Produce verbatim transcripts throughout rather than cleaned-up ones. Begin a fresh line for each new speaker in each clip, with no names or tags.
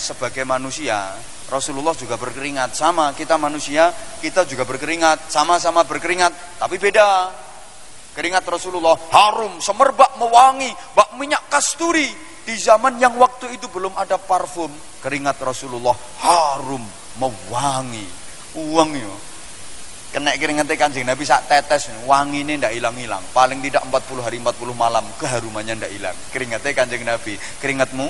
sebagai manusia, Rasulullah juga berkeringat. Sama, kita manusia, kita juga berkeringat. Sama-sama berkeringat, tapi beda. Keringat Rasulullah harum, semerbak, mewangi, bak minyak kasturi. Di zaman yang waktu itu belum ada parfum, keringat Rasulullah harum, mewangi. Uang yo. Kena keringatnya Kanjeng Nabi sak tetes, wangi ini ndak hilang-hilang. Paling tidak empat puluh hari empat puluh malam keharumannya ndak hilang. Keringatnya Kanjeng Nabi. Keringatmu?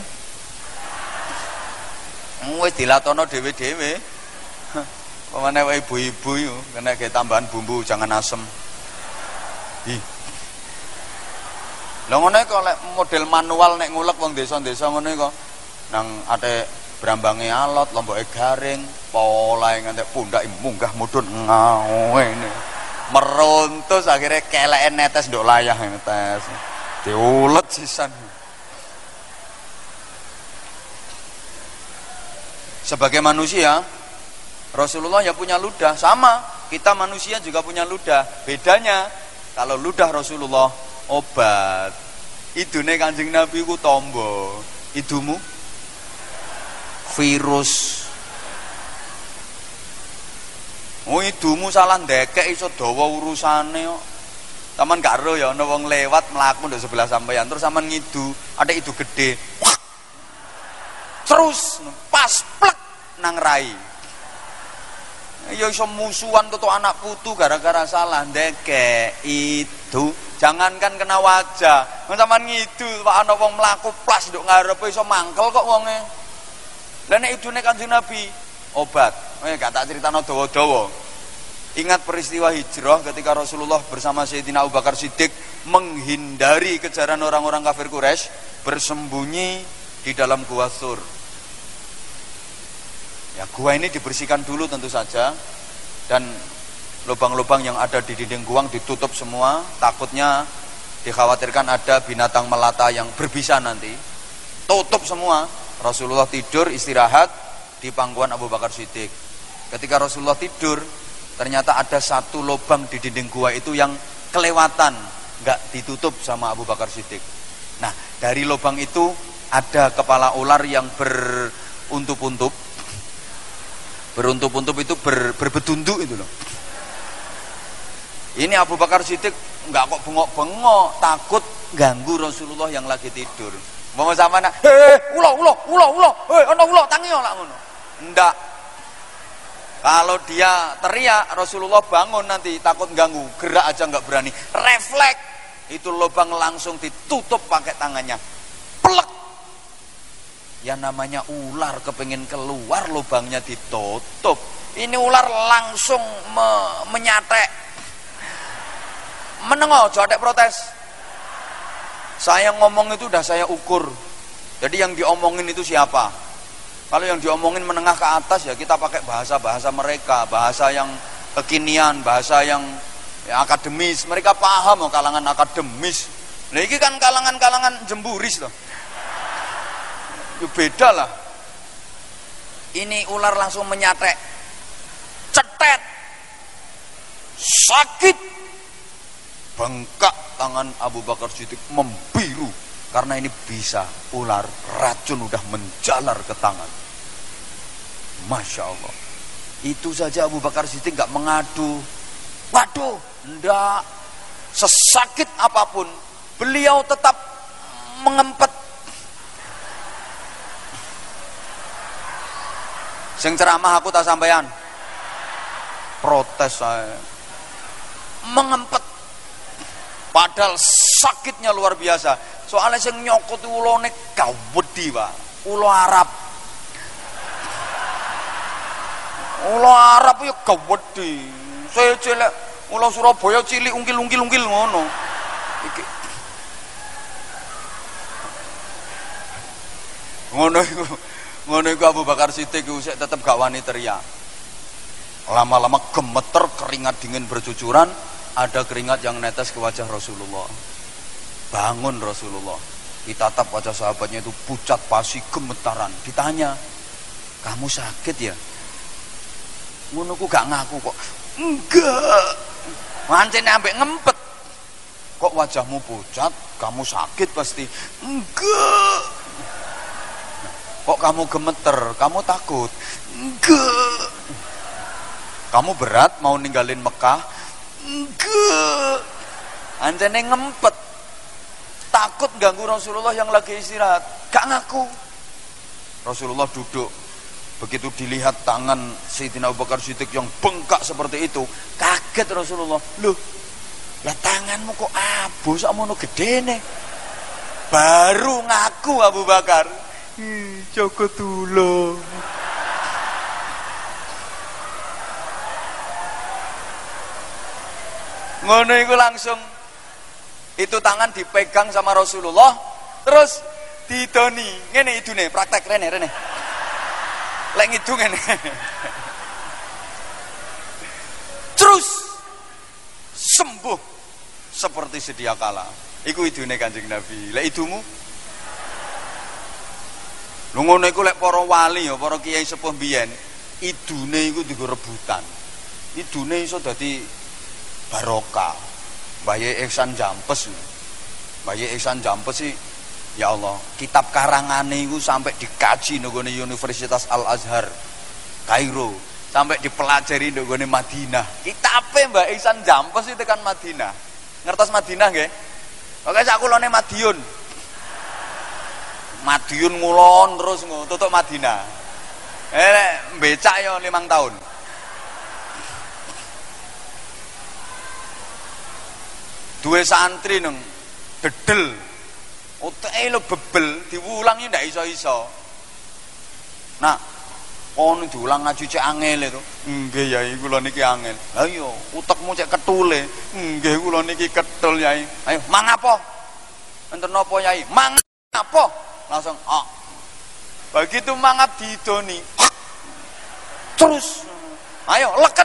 Wis dilatono dhewe-dhewe. Pemane wae ibu-ibu yo kena ge tambahan bumbu jangan asem. Ih. Lah ngono kok lek model manual nek ngulek wong desa-desa ngono kok nang ate brambange alot, lomboke garing, polahe ngantek pundake munggah mudhun ngene. Meruntus akhirnya keleke netes nduk layah netes. Diulet sisan. Sebagai manusia, Rasulullah ya punya ludah, sama kita manusia juga punya ludah. Bedanya kalau ludah Rasulullah obat, idune Kanjeng Nabi ku tombo, idumu virus. Oh idumu salah ndekek iso dawa urusane kok. Taman gak ero ya ana wong lewat mlaku ndek sebelah sampeyan terus sampean ngidu, ada idu gede. Terus pas plek nang rai. Ya iso musuhan tutu anak putu gara-gara salah ndekek itu. Jangankan kena wajah, sampean ngidu Pak ana wong mlaku plas nduk ngarepe iso mangkel kok wonge. Lah nek idune Kanjeng Nabi obat. Eh gak tak critakno dawa-dawa. Ingat peristiwa hijrah ketika Rasulullah bersama Sayyidina Abu Bakar Siddiq menghindari kejaran orang-orang kafir Quraisy, bersembunyi di dalam gua Tsur. Ya gua ini dibersihkan dulu tentu saja, dan lubang-lubang yang ada di dinding gua ditutup semua, takutnya dikhawatirkan ada binatang melata yang berbisa nanti. Tutup semua. Rasulullah tidur istirahat di pangkuan Abu Bakar Siddiq. Ketika Rasulullah tidur, ternyata ada satu lubang di dinding gua itu yang kelewatan, nggak ditutup sama Abu Bakar Siddiq. Nah, dari lubang itu ada kepala ular yang beruntup-untup. Beruntup-untup itu ber, berbetunduk itu loh. Ini Abu Bakar Siddiq nggak kok bengok-bengok, takut ganggu Rasulullah yang lagi tidur. Mau sama nak, heh, ulo, ulo, ulo, ulo, heh, ono ulo, tangi lah ngono. Ndak. Kalau dia teriak, Rasulullah bangun nanti takut ganggu, gerak aja nggak berani. Refleks, itu lubang langsung ditutup pakai tangannya. Plek. Ya namanya ular kepengen keluar, lubangnya ditutup. Ini ular langsung me menyatek. Menengok, jodek protes. Saya ngomong itu udah saya ukur. Jadi yang diomongin itu siapa? Kalau yang diomongin menengah ke atas ya kita pakai bahasa-bahasa mereka, bahasa yang kekinian, bahasa yang ya, akademis. Mereka paham oh, kalangan akademis. Nah ini kan kalangan-kalangan jemburis loh. Ya beda lah. Ini ular langsung menyatek, cetet, sakit, bengkak tangan Abu Bakar Siddiq membiru karena ini bisa ular racun udah menjalar ke tangan. Masya Allah. Itu saja Abu Bakar Siddiq gak mengadu. Waduh, ndak. Sesakit apapun beliau tetap mengempet. Sing ceramah aku tak sampean. Protes saya. Mengempet. Padahal sakitnya luar biasa. Soalnya sing nyokot ulone gawedi, Pak. Ulo Arab. Ulo Arab ya gawedi. Saya cilik ulo Surabaya cilik ungkil-ungkil-ungkil ngono. Iki. Ngono iku. Ngono iku Abu Bakar Siddiq iku sik tetep gak wani teriak. Lama-lama gemeter, keringat dingin bercucuran. Ada keringat yang netes ke wajah Rasulullah. Bangun Rasulullah. Ditatap wajah sahabatnya itu pucat pasi gemetaran. Ditanya, kamu sakit ya? Ngono ku gak ngaku kok. Enggak. Mancene ambek ngempet. Kok wajahmu pucat? Kamu sakit pasti. Enggak. Nah, Kok kamu gemeter? Kamu takut? Enggak. Kamu berat mau ninggalin Mekah? Enggak. Anjane ngempet. Takut ganggu Rasulullah yang lagi istirahat. Gak ngaku. Rasulullah duduk. Begitu dilihat tangan Sayyidina Abu Bakar Siddiq yang bengkak seperti itu, kaget Rasulullah. Loh, lah tanganmu kok abu sakmono gedene? Baru ngaku Abu Bakar. Ih, Joko Tulo. Ngono iku langsung itu tangan dipegang sama Rasulullah, terus didoni. Ngene idune, praktek rene rene. Lek ngidung ngene. Terus sembuh seperti sedia kala. Iku idune Kanjeng Nabi. Lek idumu? Lho ngono iku lek para wali ya, para kiai sepuh biyen, idune iku digo rebutan. Idune iso dadi barokah. Baye Ihsan Jampes. Baye Ihsan Jampes sih ya Allah, kitab karangane iku sampai dikaji nggone Universitas Al Azhar Kairo, sampai dipelajari nggone Madinah. Kitabe Mbak Ihsan Jampes itu tekan Madinah. Ngertos Madinah nggih? Pokoke sak kulone Madiun. Madiun ngulon terus tutuk Madinah. Eh becak yo limang tahun. Duwe santri nang dedel. Oteke lho bebel, diulangi ndak iso-iso. Nah, kon diulang ngaji cek angel itu. Nggih Yai, kula niki angel. Lah iya, utekmu cek ketule. Nggih kula niki ketul Yai. Ayo, mang apa? Enten napa Yai? Mang apa? Langsung, "Ah." Begitu mangap didoni. Terus, ayo leken.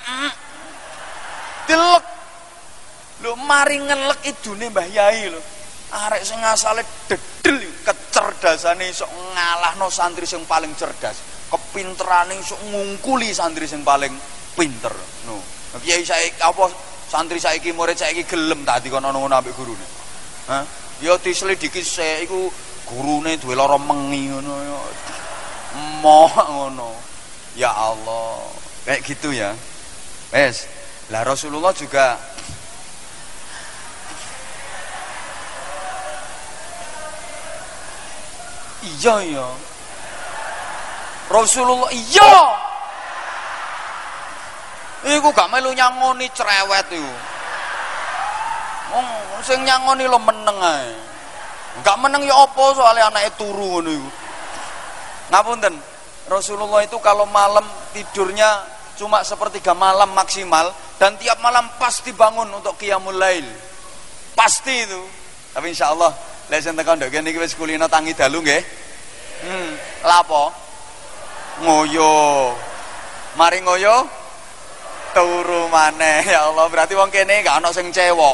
Dilek. Lho mari ngelek idune Mbah Yai lho. Arek sing asale dedel kecerdasane iso ngalahno santri sing paling cerdas. Kepinterane iso ngungkuli santri sing paling pinter. No. Kiai saiki apa santri saiki murid saiki gelem tak dikono ngono ambek gurune. Hah? Ya diselidiki sik iku gurune duwe lara mengi ngono ya. Moh ngono. Ya Allah. Kayak gitu ya. Wes. Lah Rasulullah juga iya ya Rasulullah iya iku gak melu nyangoni cerewet iku wong sing nyangoni lo meneng ae gak meneng ya apa soalnya anake turu ngono iku ngapunten Rasulullah itu kalau malam tidurnya cuma sepertiga malam maksimal dan tiap malam pasti bangun untuk qiyamul lail pasti itu tapi insyaallah lek sing tekan ndek kene iki wis kulino tangi dalu nggih. Hmm, lapo? Ngoyo. Mari ngoyo turu maneh. Ya Allah, berarti wong kene gak ana sing cewek.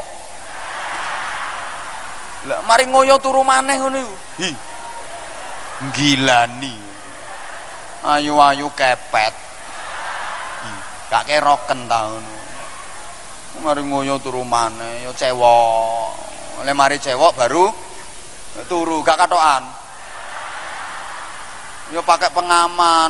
Lah mari ngoyo turu maneh ngono iku. Hi. Gilani. Ayu-ayu kepet. Hi, gak keroken ta ngono. Mari ngoyo turu maneh ya cewek. Lek mari cewek baru turu gak katokan yo pakai pengaman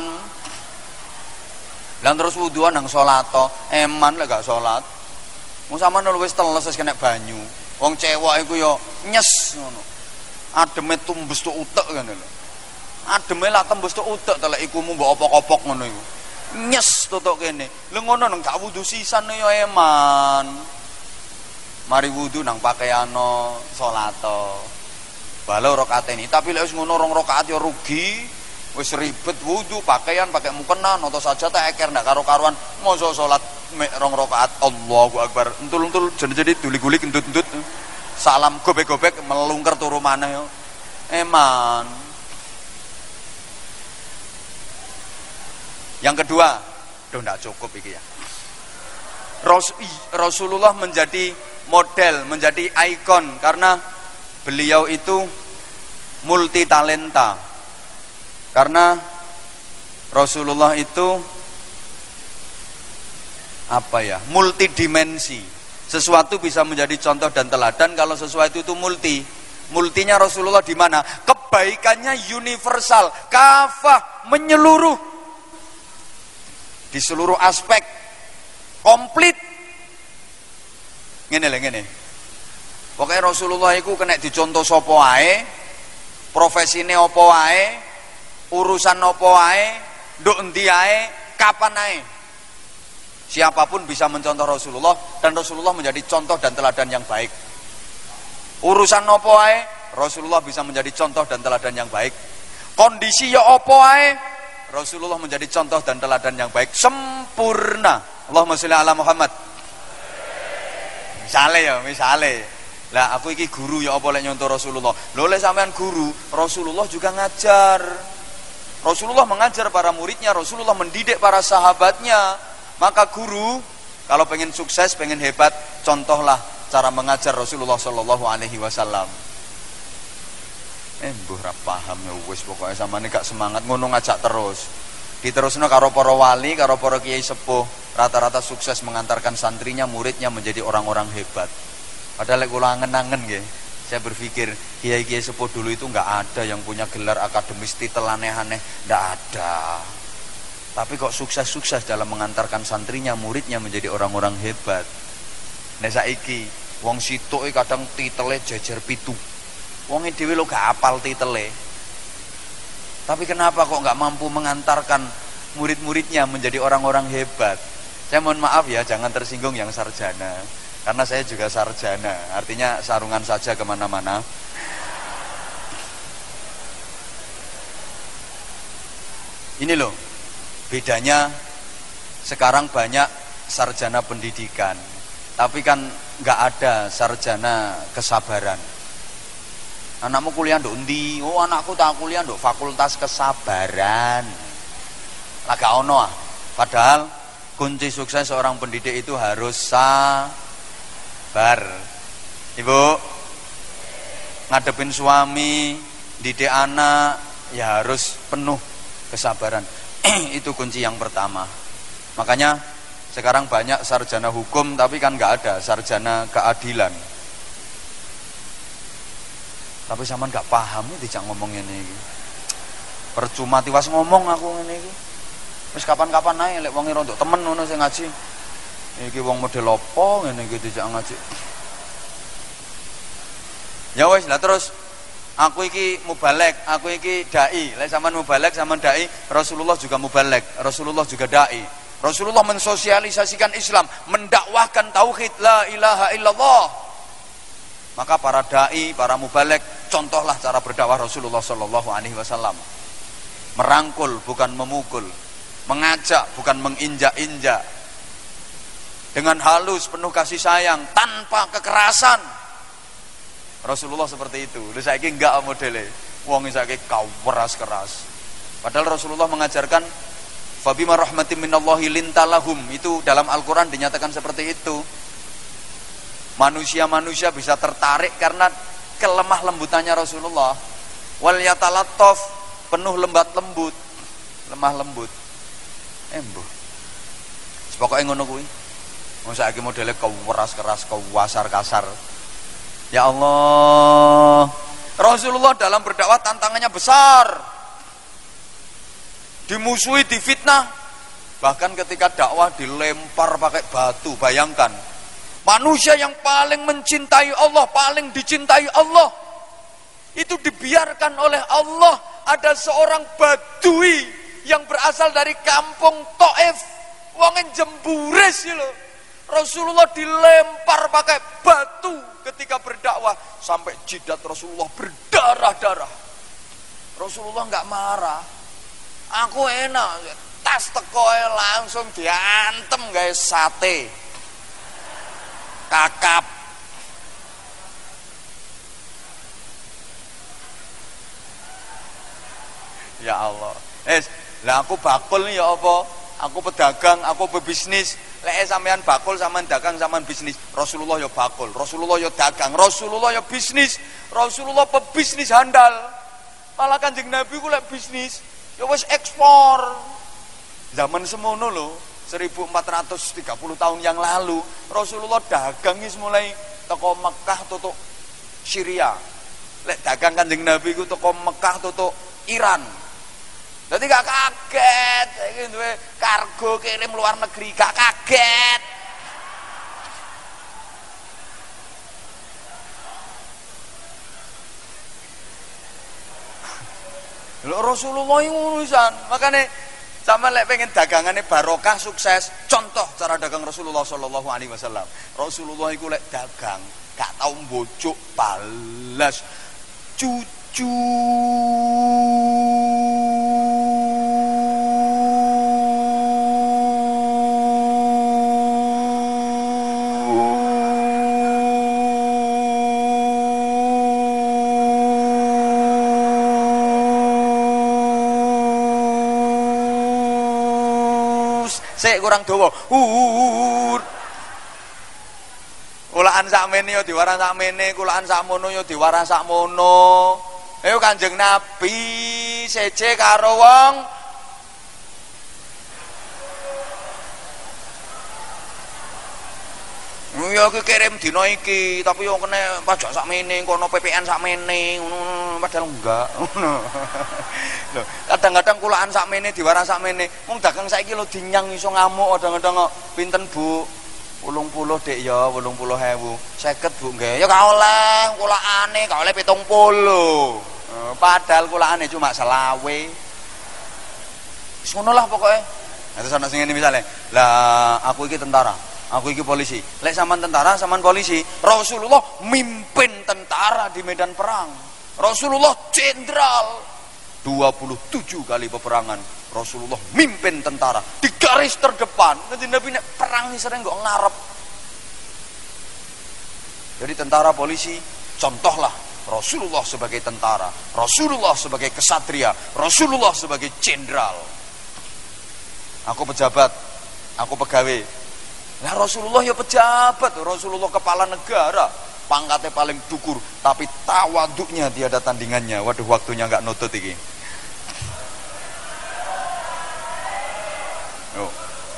lan terus wuduan nang salat to eman lek gak salat mung sampean wis teles wis kena banyu wong cewek iku yo nyes ngono ademe tumbes tok utek ngene lho ademe lak tembus tok utek telek ikumu mbok opok-opok ngono iku nyes totok kene lho ngono nang gak wudu sisan yo eman mari wudu nang pakaiano salat to balau rakaat ini tapi lek wis ngono rong rakaat ya rugi wis ribet wudu pakaian pakai mukena noto saja tak eker ndak karo-karuan mosok salat mek rong rakaat Allahu Akbar entul-entul jadi duli-gulik endut-endut salam gobek-gobek melungker turu maneh yo eman. Yang kedua Duh ndak cukup iki ya. Rasulullah menjadi model, menjadi ikon karena beliau itu multi talenta. Karena Rasulullah itu apa ya? Multidimensi. Sesuatu bisa menjadi contoh dan teladan kalau sesuatu itu multi. Multinya Rasulullah di mana? Kebaikannya universal, kafah, menyeluruh di seluruh aspek, komplit. Ngene lho ngene. Pokoke Rasulullah iku kena dicontoh sapa wae, profesine apa wae, urusan apa wae, nduk endi ae, kapan ae. Siapapun bisa mencontoh Rasulullah dan Rasulullah menjadi contoh dan teladan yang baik. Urusan apa wae, Rasulullah bisa menjadi contoh dan teladan yang baik. Kondisi ya apa wae, Rasulullah menjadi contoh dan teladan yang baik, sempurna. Allahumma sholli ala Muhammad. Misale ya, misale. Lah aku iki guru ya apa lek nyontoh Rasulullah. Lho lek sampean guru, Rasulullah juga ngajar. Rasulullah mengajar para muridnya, Rasulullah mendidik para sahabatnya. Maka guru kalau pengen sukses, pengen hebat, contohlah cara mengajar Rasulullah Shallallahu Alaihi Wasallam. Eh, mbuh ra paham ya wis pokoke samane gak semangat ngono ngajak terus. Diterusno karo para wali, karo para kiai sepuh, rata-rata sukses mengantarkan santrinya, muridnya menjadi orang-orang hebat. Padahal lek kula angen-angen nggih, saya berpikir kiai-kiai sepuh dulu itu enggak ada yang punya gelar akademis titel aneh-aneh, enggak ada. Tapi kok sukses-sukses dalam mengantarkan santrinya, muridnya menjadi orang-orang hebat. Nek saiki wong sitoke kadang titele jejer pitu. Wonge dhewe lho gak apal titele. Tapi kenapa kok gak mampu mengantarkan murid-muridnya menjadi orang-orang hebat? Saya mohon maaf ya, jangan tersinggung yang sarjana. Karena saya juga sarjana, artinya sarungan saja kemana-mana. Ini loh, bedanya sekarang banyak sarjana pendidikan, tapi kan nggak ada sarjana kesabaran. Anakmu kuliah nduk ndi? Oh, anakku tak kuliah nduk fakultas kesabaran. Lah gak ono ah. Padahal kunci sukses seorang pendidik itu harus sabar. Ibu, ngadepin suami, didik anak ya harus penuh kesabaran. Itu kunci yang pertama. Makanya sekarang banyak sarjana hukum tapi kan nggak ada sarjana keadilan. Tapi sampean nggak paham ya dijak ngomong ini. Percuma tiwas ngomong aku ngene iki. Wis kapan-kapan ae lek wong rontok temen ngono sing ngaji. Iki wong model apa ngene iki dijak ngaji. Ya wis lah terus aku iki mubalek, aku iki dai. Lek sampean mubalek, sampean dai, Rasulullah juga mubalek, Rasulullah juga dai. Rasulullah mensosialisasikan Islam, mendakwahkan tauhid la ilaha illallah. Maka para dai, para mubalek, contohlah cara berdakwah Rasulullah sallallahu alaihi wasallam. Merangkul bukan memukul, mengajak bukan menginjak-injak. Dengan halus, penuh kasih sayang, tanpa kekerasan. Rasulullah seperti itu. Lha saiki enggak modele. Wong saiki keras-keras. Padahal Rasulullah mengajarkan fabima rahmatin minallahi lintalahum. Itu dalam Al-Qur'an dinyatakan seperti itu. Manusia-manusia bisa tertarik karena kelemah lembutannya Rasulullah. Wal yatalattaf, penuh lembat lembut, lemah lembut. Embuh. Pokoke ngono kuwi. Wong saiki modele keras-keras, kewasar-kasar. Ya Allah, Rasulullah dalam berdakwah tantangannya besar, dimusuhi, difitnah, bahkan ketika dakwah dilempar pakai batu. Bayangkan, manusia yang paling mencintai Allah, paling dicintai Allah, itu dibiarkan oleh Allah. Ada seorang badui yang berasal dari kampung Taif, wongen jemburis loh. Rasulullah dilempar pakai batu ketika berdakwah sampai jidat Rasulullah berdarah-darah. Rasulullah nggak marah. Aku enak, tas tekoe langsung diantem guys, sate, kakap. Ya Allah. Eh, lah aku bakul nih ya apa? Aku pedagang, aku pebisnis. Lek sampean bakul, sampean dagang, sampean bisnis. Rasulullah ya bakul, Rasulullah ya dagang, Rasulullah ya bisnis, Rasulullah pebisnis handal. Malah Kanjeng Nabi ku lek bisnis ya wis ekspor. Zaman semono lho, seribu empat ratus tiga puluh tahun yang lalu, Rasulullah dagang wis mulai teko Mekah tutuk Syria. lek dagang Kanjeng Nabi iku teko Mekah tutuk Iran. Dadi gak kaget, iki duwe kargo kirim luar negeri, gak kaget. Lho Rasulullah ngono pisan. Makane sampeyan lek pengen dagangane barokah sukses, contoh cara dagang Rasulullah sallallahu alaihi wasallam. Rasulullah iku lek dagang gak tau mbocok balas cucu. Sik kurang dawa. Uh. Kulaan sakmene ya diwaran sakmene, kulaan sakmono ya diwaran sakmono. Ayo Kanjeng Nabi seje karo wong ya iki kirim dina iki, tapi yo kena pajak sakmene, kono P P N sakmene, ngono padahal enggak. Ngono. Lho, kadang-kadang kulaan sakmene diwaran sakmene. Wong dagang saiki lho dinyang iso ngamuk kadang-kadang kok pinten Bu? wolung puluh Dek ya, wolung puluh ewu. seket Bu nggih. Ya gak oleh kulaane, gak oleh pitung puluh. Padahal kulaane cuma selawe. Wis ngono lah pokoke. Nah, terus ana sing ngene misale, lah aku iki tentara, aku iki polisi. Lek sampean tentara, sampean polisi, Rasulullah mimpin tentara di medan perang. Rasulullah jenderal. dua puluh tujuh kali peperangan Rasulullah mimpin tentara di garis terdepan. Nanti Nabi nek perang nih sering kok ngarep. Jadi tentara polisi contohlah Rasulullah sebagai tentara, Rasulullah sebagai kesatria, Rasulullah sebagai jenderal. Aku pejabat, aku pegawai. Nah Rasulullah ya pejabat, Rasulullah kepala negara, pangkatnya paling dukur, tapi tawaduknya tiada tandingannya. Waduh waktunya nggak nutut iki. Oh.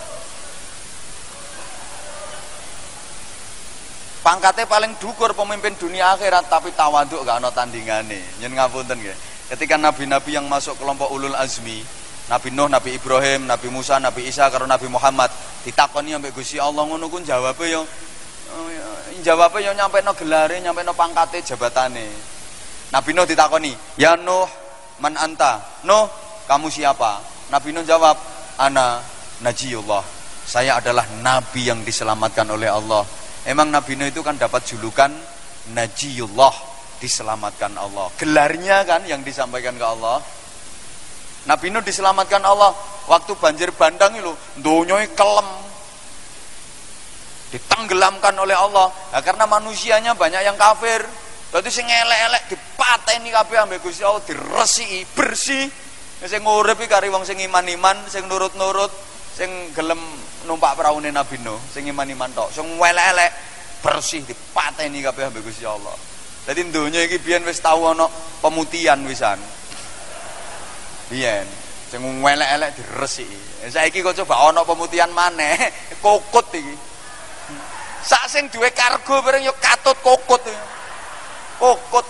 Pangkatnya paling dukur, pemimpin dunia akhirat, tapi tawaduk gak ada tandingannya. Nyen ngapunten nggih. Ketika nabi-nabi yang masuk kelompok ulul azmi, Nabi Nuh, Nabi Ibrahim, Nabi Musa, Nabi Isa karo Nabi Muhammad ditakoni ambek Gusti Allah ngono ku jawabe yo jawabe yo nyampeno gelare, nyampeno pangkate, jabatane. Nabi Nuh ditakoni, "Ya Nuh, man anta?" "Nuh, kamu siapa?" Nabi Nuh jawab, "Ana Najiyullah." Saya adalah nabi yang diselamatkan oleh Allah. Emang Nabi Nuh itu kan dapat julukan Najiyullah, diselamatkan Allah. Gelarnya kan yang disampaikan ke Allah. Nabi Nuh diselamatkan Allah waktu banjir bandang itu, donyoy kelem, ditenggelamkan oleh Allah. Nah, karena manusianya banyak yang kafir, berarti sing elek-elek dipateni kabeh ambek Gusti Allah, diresiki bersih. Sing urip iki kari wong sing iman-iman, sing nurut-nurut, sing gelem numpak praune Nabi Nuh, sing iman-iman tok. Sing elek-elek bersih dipateni kabeh ambek Gusti Allah. Dadi donya iki biyen wis tau ana pemutihan wisan. Biyen sing elek-elek diresiki. Saiki kok coba ana pemutihan maneh, kokut iki. Sak sing duwe kargo bareng yo katut kokut. Kokut.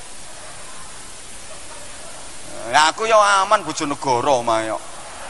Nah, aku yo aman Bojonegoro omah yo.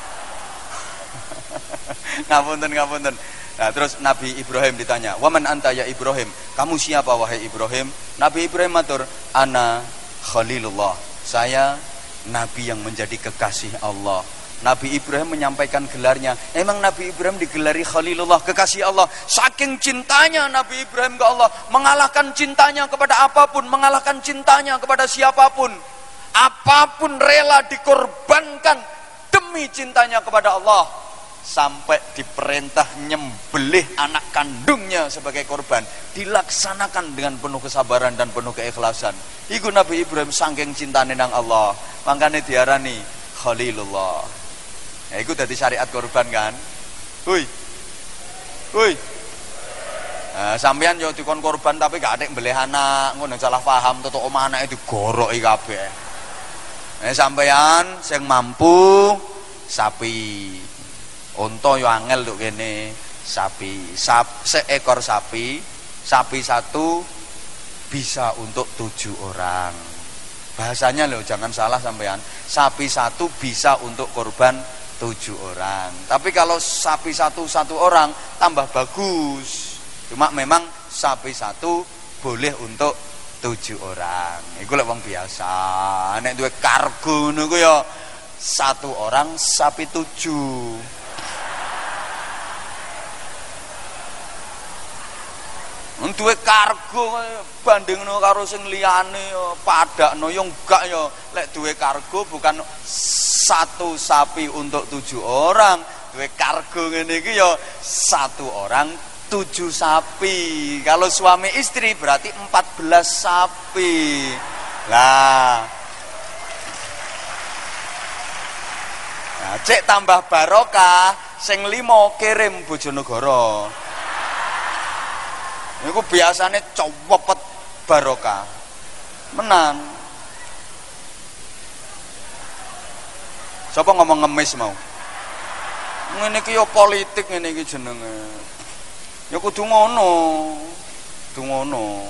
Ngapunten ngapunten. Nah, terus Nabi Ibrahim ditanya, "Wa man anta ya Ibrahim?" Kamu siapa wahai Ibrahim? Nabi Ibrahim matur, "Ana Khalilullah." Saya nabi yang menjadi kekasih Allah. Nabi Ibrahim menyampaikan gelarnya. Emang Nabi Ibrahim digelari Khalilullah, kekasih Allah. Saking cintanya Nabi Ibrahim ke Allah, mengalahkan cintanya kepada apapun, mengalahkan cintanya kepada siapapun. Apapun rela dikorbankan demi cintanya kepada Allah. Sampai diperintah nyembelih anak kandungnya sebagai korban, dilaksanakan dengan penuh kesabaran dan penuh keikhlasan. Iku Nabi Ibrahim saking cintane nang Allah, makanya diarani Khalilullah. Ya iku dadi syariat korban kan. Hui. Hui. Nah, sampean yo dikon korban tapi gak atik mbelih anak, ngono salah paham, tutuk omah anake digoroki kabeh. Nah, sampean sing mampu sapi. Unta yo angel lho kene, sapi, Sap, seekor sapi, sapi satu bisa untuk tujuh orang. Bahasanya loh, jangan salah sampean. Sapi satu bisa untuk korban tujuh orang. Tapi kalau sapi satu satu orang tambah bagus. Cuma memang sapi satu boleh untuk tujuh orang. Iku lek wong biasa. Nek duwe kargo niku ya satu orang sapi tujuh. Duwe kargo bandingno karo sing liyane padakno yo enggak yo. Lek duwe kargo bukan satu sapi untuk tujuh orang. Duwe kargo ngene iki yo satu orang tujuh sapi. Kalau suami istri berarti empat belas sapi. Lah. Nah, cek tambah barokah sing limo kirim Bojonegoro. Niku biasane cowepet barokah. Menan. Sapa ngomong ngemis mau? Ngene iki ya politik ngene iki jenenge. Ya kudu ngono. Kudu ngono.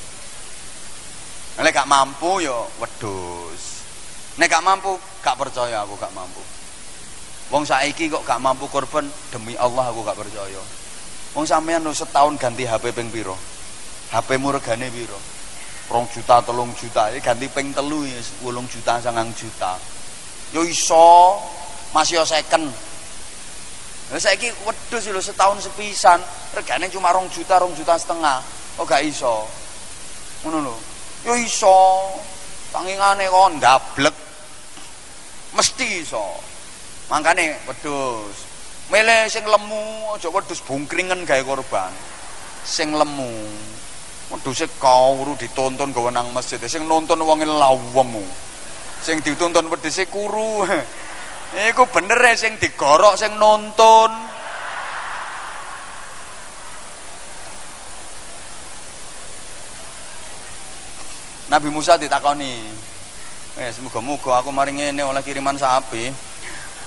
Nek gak mampu ya wedhus. Nek gak mampu, gak percaya aku gak mampu. Wong saiki kok gak mampu korban, demi Allah aku gak percaya. Wong sampean lho setahun ganti H P ping piro? H P-mu regane piro? dua juta, tiga juta, iki ganti ping telu ya wolung juta, sangang juta. Yo iso, masih yo second. Lah saiki wedhus lho setahun sepisan, regane cuma dua juta, dua juta setengah. Kok gak iso? Ngono lho. Yo iso. Tangingane kok ndablek. Mesti iso. Mangkane wedhus milih sing lemu, aja wedhus bungkringen gawe korban. Sing lemu. Wedhuse kawru ditonton gawe nang masjid. Sing nonton wonge lawemu. Sing dituntun wedhuse kuru. Iku bener e sing digorok sing nonton. Nabi Musa ditakoni. Wes muga-muga aku mari ngene oleh kiriman sapi.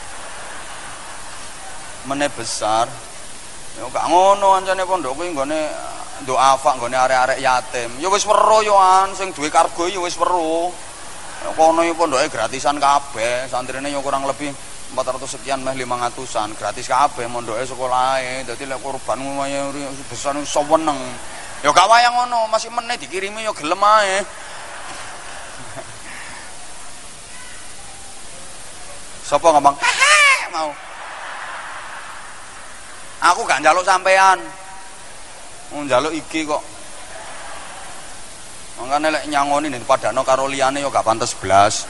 Mene besar. Ya gak ngono ancane pondok kuwi nggone nduk afak nggone arek-arek yatim. Ya wis weruh yo an sing duwe kargo ya wis weruh. Kono yo pondoke gratisan kabeh, santrine yo kurang lebih empat ratus sekian meh lima ratusan, gratis kabeh mondoke sekolahe. Dadi lek korban lumayan besar iso weneng. Ya gak wayang ngono, masih meneh dikirimi yo gelem ae. Sapa ngomong? Hehe, mau. Aku gak njaluk sampean. Mau njaluk iki kok. Mangkane lek nyangoni ning padano karo liyane yo gak pantes blas.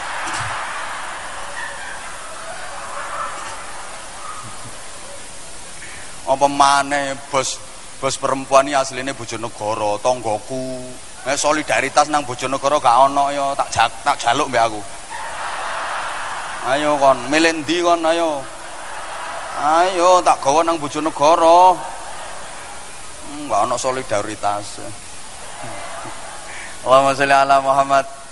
Apa maneh bos bos perempuan iki asline Bojonegoro, tanggoku. Nek solidaritas nang Bojonegoro gak ono yo tak jak, tak jaluk mbek aku. Ayo kon, milih ndi kon ayo. Ayo tak gawa nang Bojonegoro. Enggak ono solidaritas. Allahumma sholli ala Muhammad.